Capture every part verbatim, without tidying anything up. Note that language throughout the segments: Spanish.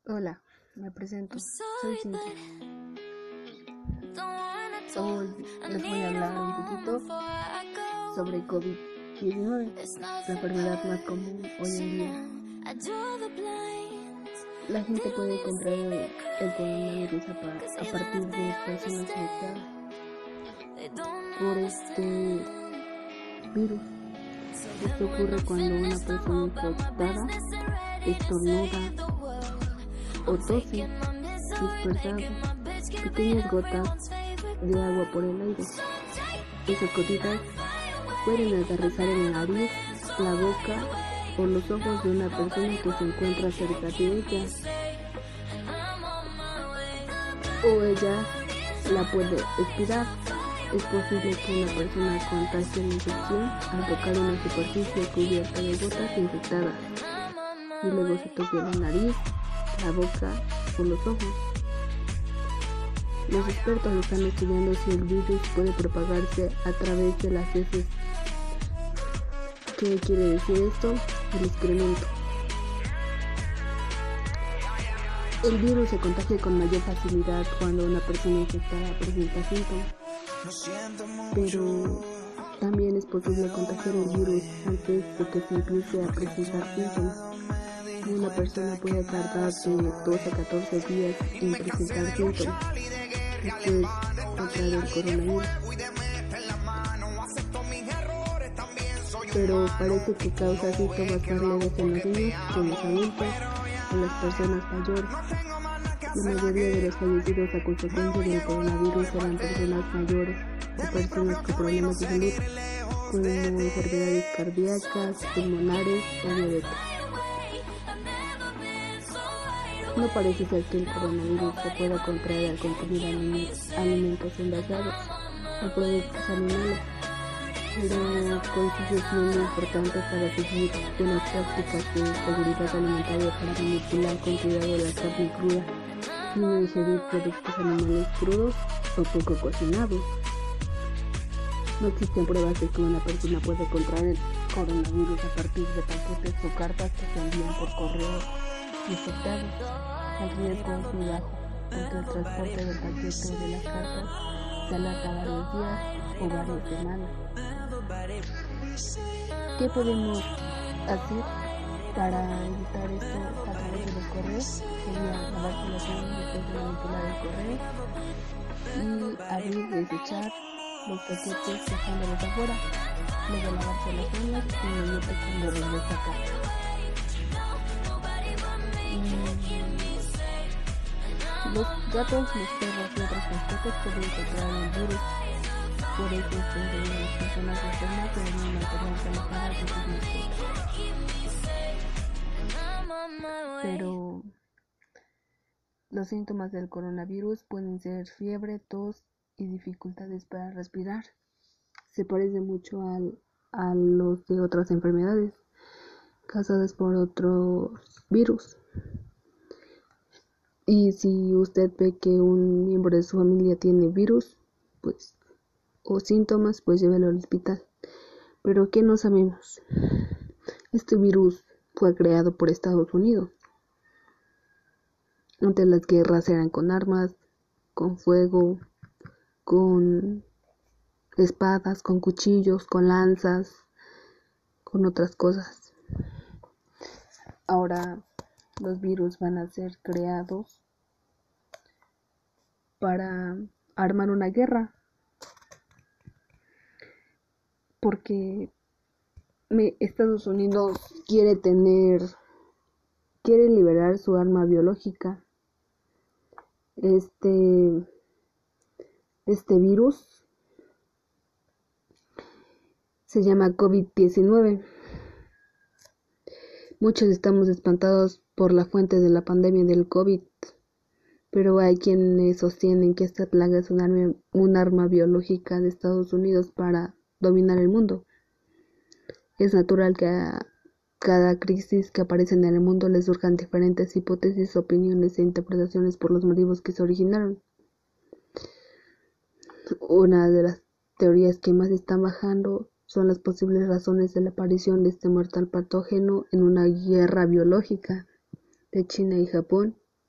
Hola, me presento. Soy Cintia. Hoy les voy a hablar un poquito sobre COVID diecinueve, la enfermedad más común hoy en día. La gente puede contraer el coronavirus a, pa- a partir de personas infectadas por este virus. Esto ocurre cuando una persona infectada estornuda o tose, dispersando pequeñas gotas de agua por el aire. Esas gotitas pueden aterrizar en la nariz, la boca o los ojos de una persona que se encuentra cerca de ella, o ella la puede expirar. Es posible que una persona contagie la infección al tocar una superficie cubierta de gotas infectadas y luego se toque la nariz, la boca o los ojos. Los expertos están estudiando si el virus puede propagarse a través de las heces. ¿Qué quiere decir esto? El excremento. El virus se contagia con mayor facilidad cuando una persona infectada presenta síntomas, pero también es posible contagiar el virus antes de que se empiece a presentar síntomas. Una persona puede tardar de dos a catorce días en presentar síntomas después de contraer el coronavirus, pero parece que causa síntomas más leves en los niños que en los adultos o las personas mayores. La mayoría de los fallecidos a consecuencia del coronavirus eran personas mayores o personas con problemas de salud, como enfermedades cardíacas, pulmonares o diabetes. No parece ser que el coronavirus se pueda contraer al consumir alimentos envasados o productos animales, pero consigue siendo importante para seguir buenas prácticas de seguridad alimentaria para manipular con cuidado la carne cruda y no ingerir productos animales crudos o poco cocinados. No existen pruebas de que una persona puede contraer el coronavirus a partir de paquetes o cartas que se envían por correo infectados. El riesgo es muy bajo porque el transporte del paquete o de las cartas se alarga varios días o varias semanas. ¿Qué podemos hacer para evitar esto a través de los correos? Sería lavarse las manos después de manipular el correo y abrir y desechar los paquetes dejándolos afuera, luego lavarse las manos y inmediato cuando regresa a casa. Los gatos, los perros y otros mascotas pueden contraer el virus. Por eso es que las personas enfermas deben mantenerse alejadas de sus mascotas. Pero los síntomas del coronavirus pueden ser fiebre, tos y dificultades para respirar. Se parece mucho al, a los de otras enfermedades causadas por otros virus. Y si usted ve que un miembro de su familia tiene virus, pues, o síntomas, pues llévelo al hospital. Pero ¿qué no sabemos? Este virus fue creado por Estados Unidos. Antes las guerras eran con armas, con fuego, con espadas, con cuchillos, con lanzas, con otras cosas. Ahora los virus van a ser creados para armar una guerra, porque Estados Unidos quiere tener, quiere liberar su arma biológica. Este, este virus se llama COVID diecinueve. Muchos estamos espantados por la fuente de la pandemia del COVID, pero hay quienes sostienen que esta plaga es un arma, un arma biológica de Estados Unidos para dominar el mundo. Es natural que a cada crisis que aparece en el mundo les surjan diferentes hipótesis, opiniones e interpretaciones por los motivos que se originaron. Una de las teorías que más están bajando son las posibles razones de la aparición de este mortal patógeno en una guerra biológica de China y Japón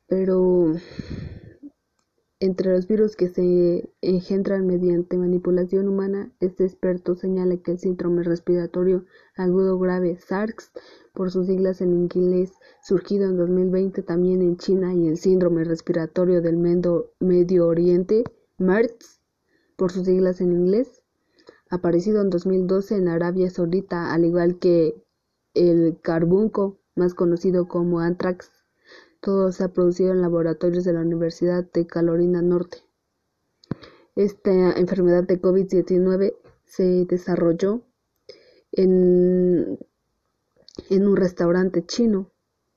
pero entre los virus que se engendran mediante manipulación humana, este experto señala que el síndrome respiratorio agudo grave SARS, por sus siglas en inglés, surgido en dos mil veinte también en China, y el síndrome respiratorio del Medio Oriente, MERS, por sus siglas en inglés, aparecido en dos mil doce en Arabia Saudita, al igual que el carbunco, más conocido como anthrax. Todo se ha producido en laboratorios de la Universidad de Carolina Norte. Esta enfermedad de COVID diecinueve se desarrolló en, en un restaurante chino,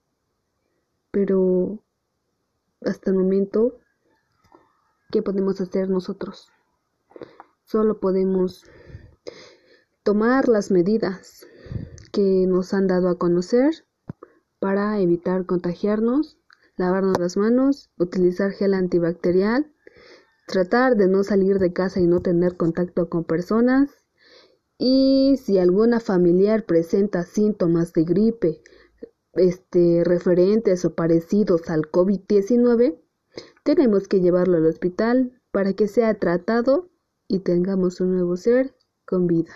pero hasta el momento, ¿qué podemos hacer nosotros? Solo podemos tomar las medidas que nos han dado a conocer para evitar contagiarnos, lavarnos las manos, utilizar gel antibacterial, tratar de no salir de casa y no tener contacto con personas, y si alguna familiar presenta síntomas de gripe este, referentes o parecidos al COVID diecinueve, tenemos que llevarlo al hospital para que sea tratado y tengamos un nuevo ser con vida.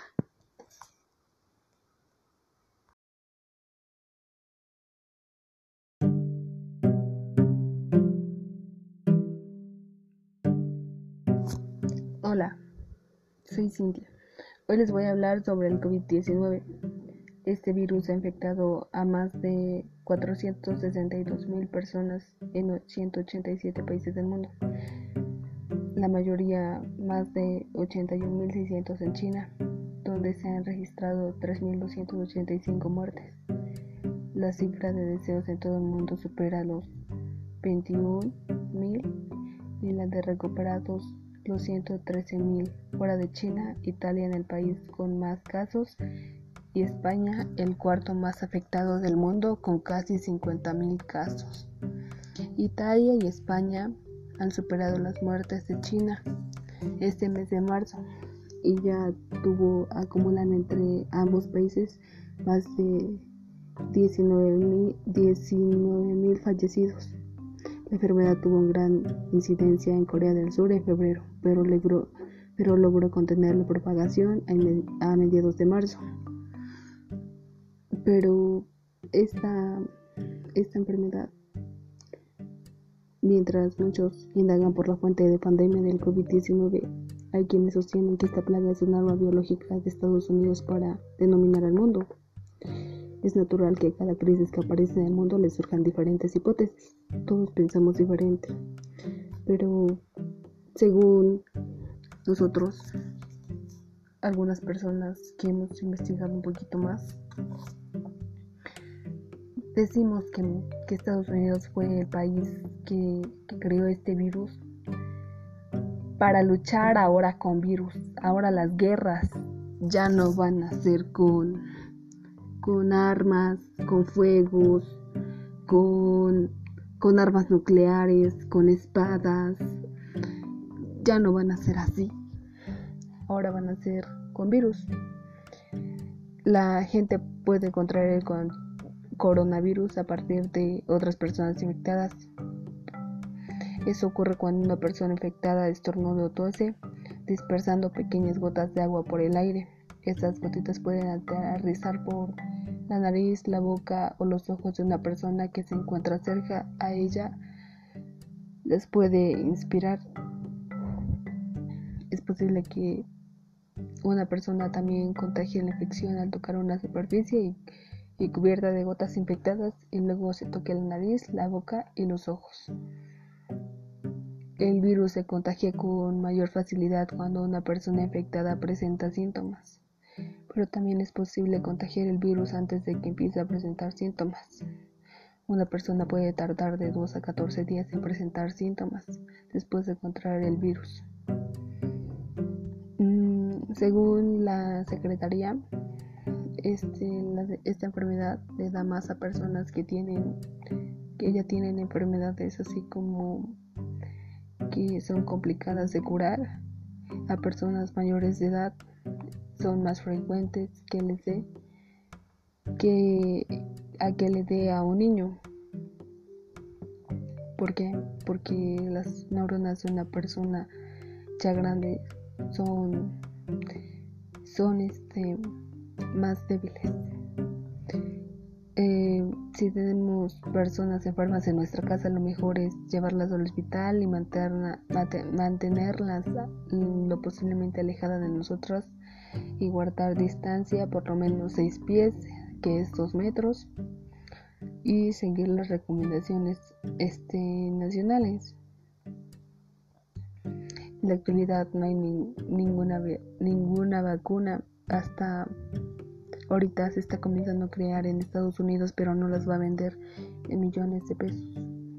Hola, soy Cintia. Hoy les voy a hablar sobre el COVID diecinueve. Este virus ha infectado a más de cuatrocientos sesenta y dos mil personas en ciento ochenta y siete países del mundo. La mayoría, más de ochenta y un mil seiscientos en China, donde se han registrado tres mil doscientas ochenta y cinco muertes. La cifra de decesos en todo el mundo supera los veintiún mil y la de recuperados los ciento trece mil. Fuera de China, Italia en el país con más casos y España el cuarto más afectado del mundo con casi cincuenta mil casos. Italia y España han superado las muertes de China este mes de marzo y ya tuvo acumulan entre ambos países más de diecinueve mil fallecidos. La enfermedad tuvo una gran incidencia en Corea del Sur en febrero, pero logró, pero logró contener la propagación a mediados de marzo. Pero esta, esta enfermedad, mientras muchos indagan por la fuente de pandemia del COVID diecinueve, hay quienes sostienen que esta plaga es un arma biológica de Estados Unidos para dominar al mundo. Es natural que cada crisis que aparece en el mundo le surjan diferentes hipótesis. Todos pensamos diferente, pero según nosotros, algunas personas que hemos investigado un poquito más, decimos que, que Estados Unidos fue el país que, que creó este virus para luchar ahora con virus. Ahora las guerras ya no van a ser con, con armas, con fuegos, con, con armas nucleares, con espadas. Ya no van a ser así. Ahora van a ser con virus. La gente puede contraer el con coronavirus a partir de otras personas infectadas. Eso ocurre cuando una persona infectada estornuda o tose, dispersando pequeñas gotas de agua por el aire. Estas gotitas pueden aterrizar por la nariz, la boca o los ojos de una persona que se encuentra cerca a ella. Les puede inspirar. Es posible que una persona también contagie la infección al tocar una superficie y, y cubierta de gotas infectadas y luego se toque la nariz, la boca y los ojos. El virus se contagia con mayor facilidad cuando una persona infectada presenta síntomas, pero también es posible contagiar el virus antes de que empiece a presentar síntomas. Una persona puede tardar de dos a catorce días en presentar síntomas después de contraer el virus. Mm, según la Secretaría, este, la, esta enfermedad le da más a personas que tienen, que ya tienen enfermedades así como que son complicadas de curar. A personas mayores de edad son más frecuentes que les dé que a que le dé a un niño, ¿Por qué? Porque las neuronas de una persona ya grande son, son este, más débiles. Eh, si tenemos personas enfermas en nuestra casa, lo mejor es llevarlas al hospital y mantenerla, mantenerlas lo posiblemente alejadas de nosotros y guardar distancia por lo menos seis pies, que es dos metros, y seguir las recomendaciones este, nacionales. En la actualidad no hay ni, ninguna, ninguna vacuna. Hasta ahorita se está comenzando a crear en Estados Unidos, pero no las va a vender en millones de pesos.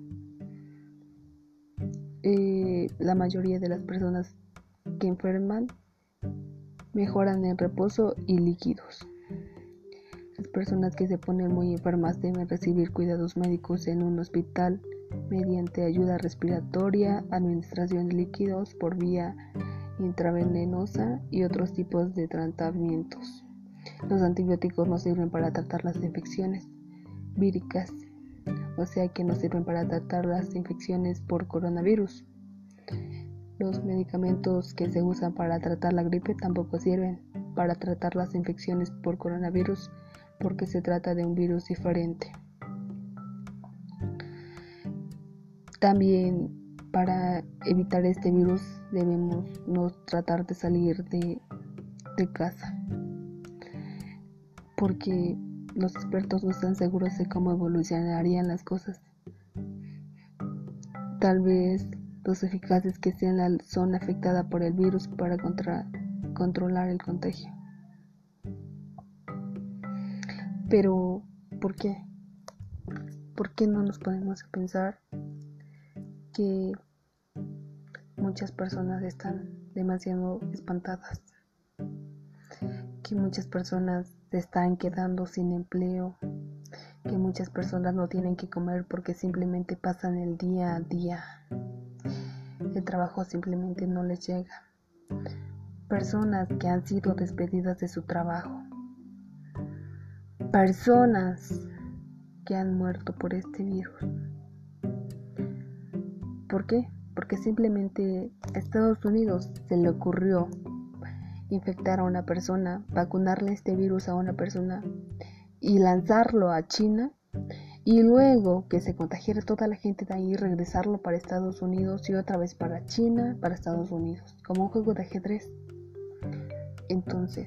Eh, la mayoría de las personas que enferman mejoran en reposo y líquidos. Las personas que se ponen muy enfermas deben recibir cuidados médicos en un hospital mediante ayuda respiratoria, administración de líquidos por vía intravenosa y otros tipos de tratamientos. Los antibióticos no sirven para tratar las infecciones víricas, o sea que no sirven para tratar las infecciones por coronavirus. Los medicamentos que se usan para tratar la gripe tampoco sirven para tratar las infecciones por coronavirus, porque se trata de un virus diferente. También para evitar este virus debemos no tratar de salir de, de casa, porque los expertos no están seguros de cómo evolucionarían las cosas. Tal vez los eficaces que sean la zona afectada por el virus para contra, controlar el contagio. Pero, ¿por qué? ¿Por qué no nos ponemos a pensar que muchas personas están demasiado espantadas? Que muchas personas se están quedando sin empleo, que muchas personas no tienen que comer porque simplemente pasan el día a día. El trabajo simplemente no les llega. Personas que han sido despedidas de su trabajo. Personas que han muerto por este virus. ¿Por qué? Porque simplemente a Estados Unidos se le ocurrió infectar a una persona, vacunarle este virus a una persona y lanzarlo a China, y luego que se contagiara toda la gente de ahí, regresarlo para Estados Unidos y otra vez para China, para Estados Unidos, como un juego de ajedrez. Entonces,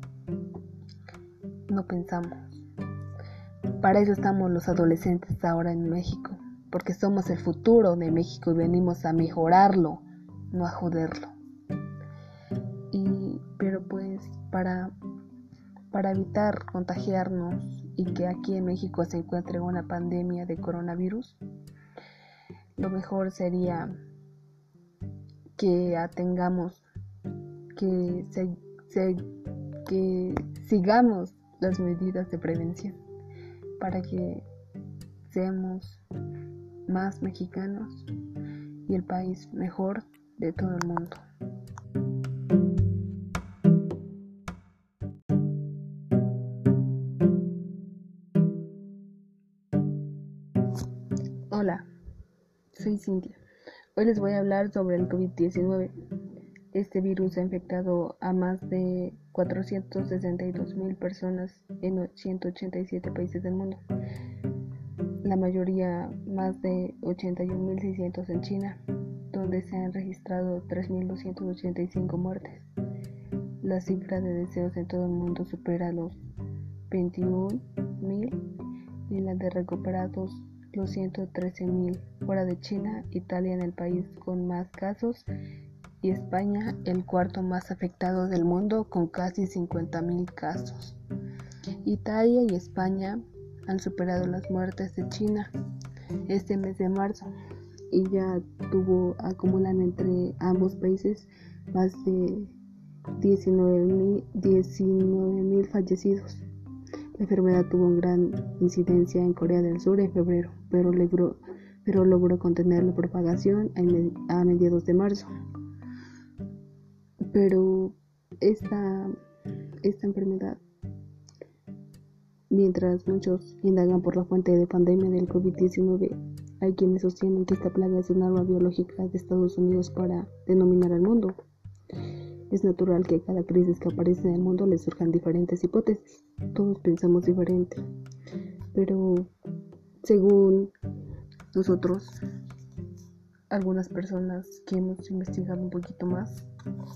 no pensamos. Para eso estamos los adolescentes ahora en México, porque somos el futuro de México y venimos a mejorarlo, no a joderlo. Y, pero pues para, para evitar contagiarnos y que aquí en México se encuentre una pandemia de coronavirus, lo mejor sería que atengamos, que, se, se, que sigamos las medidas de prevención para que seamos más mexicanos y el país mejor de todo el mundo. Hola, soy Cintia. Hoy les voy a hablar sobre el covid diecinueve. Este virus ha infectado a más de cuatrocientos sesenta y dos mil personas en ciento ochenta y siete países del mundo. La mayoría, más de ochenta y un mil seiscientos en China, donde se han registrado tres mil doscientas ochenta y cinco muertes. La cifra de decesos en todo el mundo supera los veintiún mil y la de recuperados los ciento trece mil. Fuera de China, Italia en el país con más casos y España el cuarto más afectado del mundo con casi cincuenta mil casos. Italia y España han superado las muertes de China este mes de marzo y ya tuvo acumulan entre ambos países más de diecinueve mil fallecidos. La enfermedad tuvo una gran incidencia en Corea del Sur en febrero, pero logró, pero logró contener la propagación a mediados de marzo. Pero esta, esta enfermedad, mientras muchos indagan por la fuente de pandemia del covid diecinueve, hay quienes sostienen que esta plaga es un arma biológica de Estados Unidos para dominar al mundo. Es natural que a cada crisis que aparece en el mundo le surjan diferentes hipótesis. Todos pensamos diferente. Pero según nosotros, algunas personas que hemos investigado un poquito más,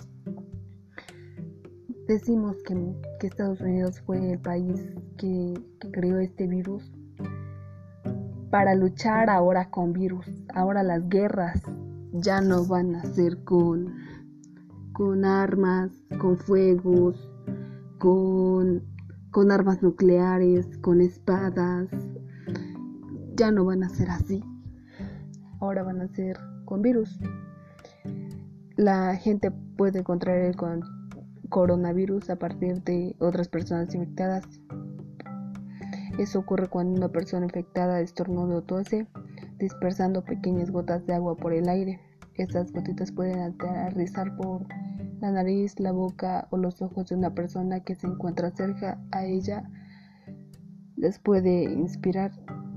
decimos que, que Estados Unidos fue el país que, que creó este virus para luchar ahora con virus. Ahora las guerras ya no van a ser con, con armas, con fuegos, con, con armas nucleares, con espadas. Ya no van a ser así. Ahora van a ser con virus. La gente puede contraer el con coronavirus a partir de otras personas infectadas. Eso ocurre cuando una persona infectada estornuda o tose, dispersando pequeñas gotas de agua por el aire. Estas gotitas pueden aterrizar por la nariz, la boca o los ojos de una persona que se encuentra cerca a ella. Les puede inspirar.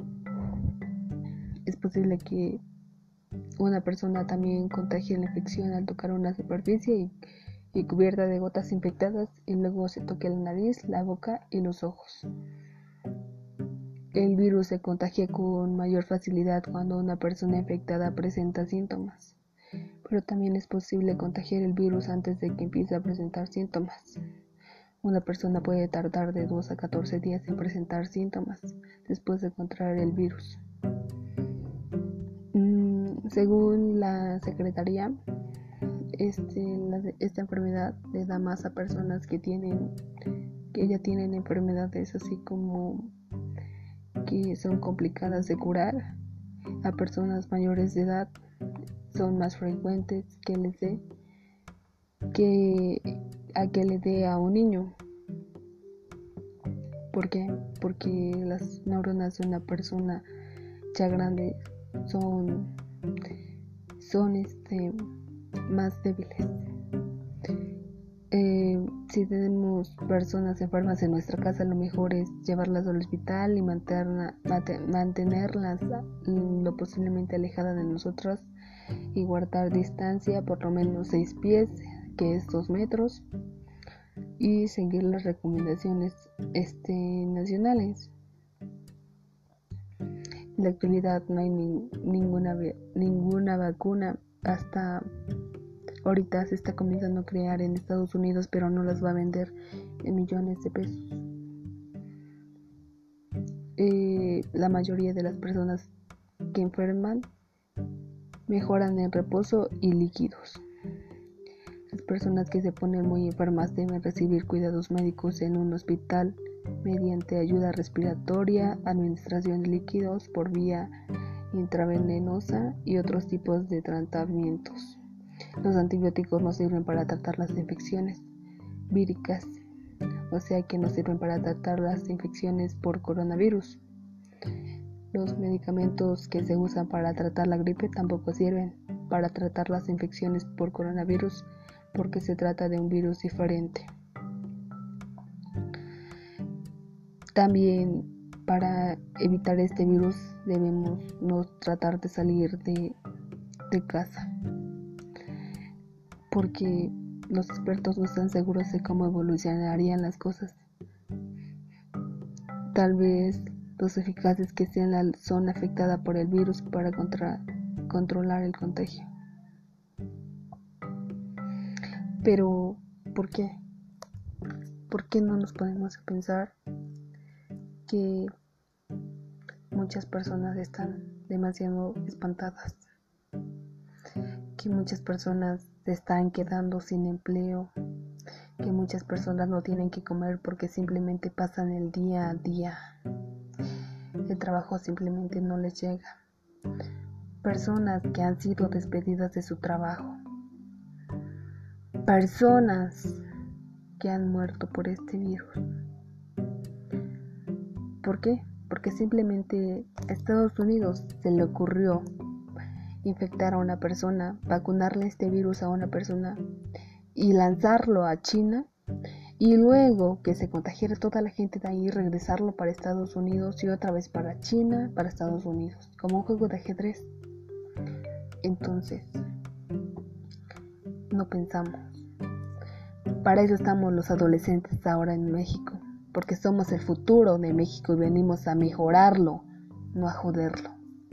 Es posible que una persona también contagie la infección al tocar una superficie y y cubierta de gotas infectadas y luego se toque la nariz, la boca y los ojos. El virus se contagia con mayor facilidad cuando una persona infectada presenta síntomas, pero también es posible contagiar el virus antes de que empiece a presentar síntomas. Una persona puede tardar de dos a catorce días en presentar síntomas después de contraer el virus. Mm, según la Secretaría, Este, la, esta enfermedad le da más a personas que tienen que ya tienen enfermedades así como que son complicadas de curar. A personas mayores de edad son más frecuentes que les dé que a que le dé a un niño. ¿Por qué? Porque las neuronas de una persona ya grande son son este más débiles. Eh, si tenemos personas enfermas en nuestra casa, lo mejor es llevarlas al hospital y mantenerla, mantenerlas lo posiblemente alejadas de nosotros y guardar distancia por lo menos seis pies, que es dos metros, y seguir las recomendaciones este, nacionales. En la actualidad no hay ni, ninguna, ninguna vacuna. Hasta ahorita se está comenzando a crear en Estados Unidos, pero no las va a vender en millones de pesos. Eh, la mayoría de las personas que enferman mejoran en reposo y líquidos. Las personas que se ponen muy enfermas deben recibir cuidados médicos en un hospital mediante ayuda respiratoria, administración de líquidos por vía intravenosa y otros tipos de tratamientos. Los antibióticos no sirven para tratar las infecciones víricas, o sea que no sirven para tratar las infecciones por coronavirus. Los medicamentos que se usan para tratar la gripe tampoco sirven para tratar las infecciones por coronavirus, porque se trata de un virus diferente. También para evitar este virus debemos no tratar de salir de, de casa, porque los expertos no están seguros de cómo evolucionarían las cosas. Tal vez los eficaces que sean la zona afectada por el virus para contra, controlar el contagio. Pero, ¿por qué? ¿Por qué no nos ponemos a pensar que muchas personas están demasiado espantadas, que muchas personas se están quedando sin empleo, que muchas personas no tienen que comer porque simplemente pasan el día a día, el trabajo simplemente no les llega, personas que han sido despedidas de su trabajo, personas que han muerto por este virus? ¿Por qué? Porque simplemente a Estados Unidos se le ocurrió infectar a una persona, vacunarle este virus a una persona y lanzarlo a China, y luego que se contagiara toda la gente de ahí, regresarlo para Estados Unidos y otra vez para China, para Estados Unidos, como un juego de ajedrez. Entonces, no pensamos. Para eso estamos los adolescentes ahora en México, porque somos el futuro de México y venimos a mejorarlo, no a joderlo.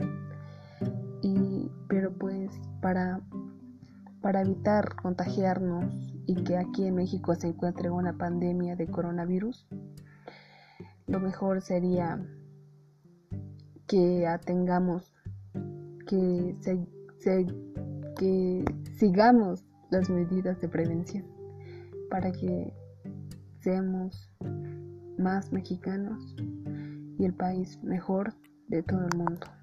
Y, pero pues para, para evitar contagiarnos y que aquí en México se encuentre una pandemia de coronavirus, lo mejor sería que atengamos, que, se, se, que sigamos las medidas de prevención para que seamos más mexicanos y el país mejor de todo el mundo.